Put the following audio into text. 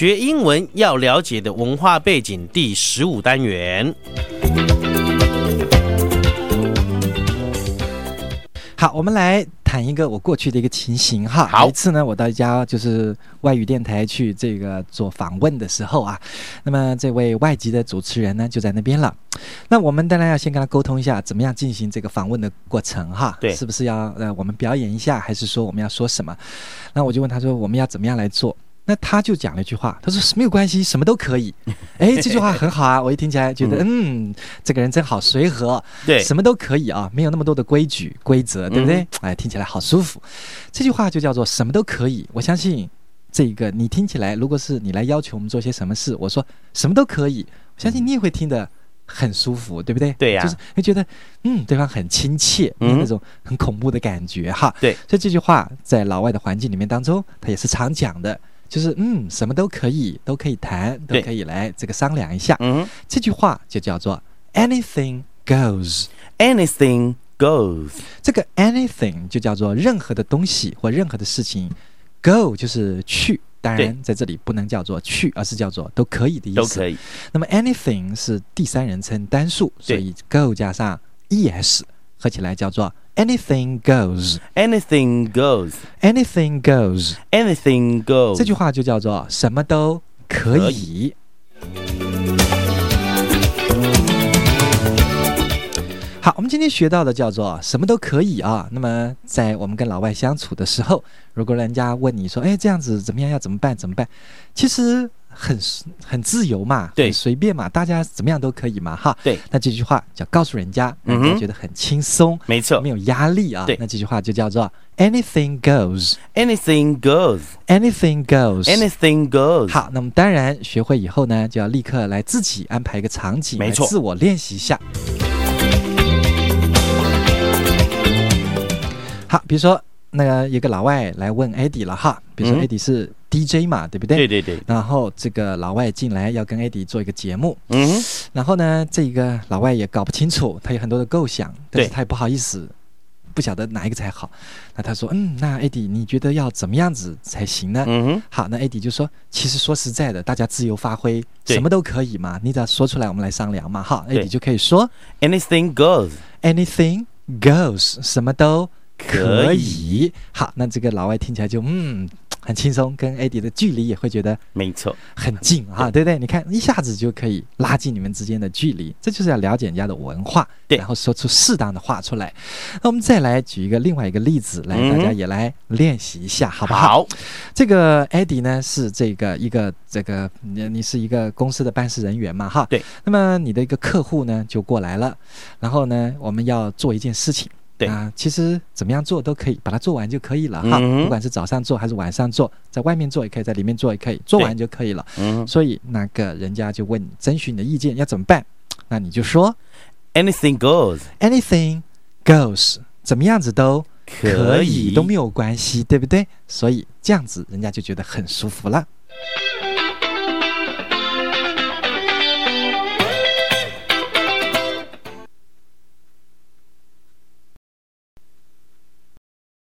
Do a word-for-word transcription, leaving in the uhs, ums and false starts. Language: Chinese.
学英文要了解的文化背景第十五单元。 好，我们来谈一个我过去的一个情形哈。有一次呢，我到一家就是外语电台去这个做访问的时候啊，那么这位外籍的主持人呢就在那边了。那我们当然要先跟他沟通一下，怎么样进行这个访问的过程哈？ 对， 是不是要呃我们表演一下，还是说我们要说什么？那我就问他说我们要怎么样来做？那他就讲了一句话，他说没有关系，什么都可以。哎，这句话很好啊，我一听起来觉得，嗯, 嗯，这个人真好随和， 对， 什么都可以啊，没有那么多的规矩规则，对不对？嗯、哎，听起来好舒服。这句话就叫做什么都可以。我相信这个你听起来，如果是你来要求我们做些什么事，我说什么都可以，我相信你也会听得很舒服，对不对？ 对呀、啊， 就是会觉得嗯，对方很亲切，没有那种很恐怖的感觉哈。 对， 所以这句话在老外的环境里面当中，他也是常讲的。就是嗯，什么都可以，都可以谈，都可以来这个商量一下。嗯，这句话就叫做 anything goes。anything goes。 这个 anything 就叫做任何的东西或任何的事情 ，go 就是去。当然，在这里不能叫做去，而是叫做都可以的意思。 都可以。 那么 anything 是第三人称单数，所以 go 加上 es 合起来叫做。Anything goes. Anything goes. Anything goes. Anything goes. 这句话就叫做什么都可以。可以好，我们今天学到的叫做什么都可以啊。那么在我们跟老外相处的时候，如果人家问你说，哎，这样子怎么样？要怎么办？怎么办？其实很很自由嘛， 对， 很随便嘛，大家怎么样都可以嘛，哈。 对， 那这句话叫告诉人家，人家觉得很轻松， 没错， 没有压力啊。 对， 那这句话就叫做 anything goes. Anything goes. Anything goes. Anything goes. 好，那么当然学会以后呢，就要立刻来自己安排一个场景， 没错， 来自我练习一下。好，比如说那个有个老外来问 Eddie 了哈，比如说 Eddie 是 D J 嘛，嗯、对不对？ 对对对。 然后这个老外进来要跟 Eddie 做一个节目，嗯，然后呢，这个老外也搞不清楚，他有很多的构想，但是他也不好意思，不晓得哪一个才好。那他说，嗯，那 Eddie 你觉得要怎么样子才行呢？嗯哼。好，那 Eddie 就说，其实说实在的，大家自由发挥，什么都可以嘛，你只要说出来，我们来商量嘛。哈 ，Eddie 就可以说 ，Anything goes. Anything goes. 什么都。可以，好，那这个老外听起来就嗯很轻松，跟 Eddie 的距离也会觉得没错很近啊，对不对？你看一下子就可以拉近你们之间的距离，这就是要了解人家的文化，对，然后说出适当的话出来。那我们再来举一个另外一个例子，来、嗯、大家也来练习一下，好不好？好，这个 Eddie 呢是这个一个这个你是一个公司的办事人员嘛，哈，对。那么你的一个客户呢就过来了，然后呢我们要做一件事情。对啊，其实怎么样做都可以，把它做完就可以了哈、嗯。不管是早上做还是晚上做，在外面做也可以，在里面做也可以，做完就可以了。嗯，所以那个人家就问你征询你的意见要怎么办，那你就说 Anything goes. Anything goes. 怎么样子都可以，都没有关系，对不对？所以这样子人家就觉得很舒服了。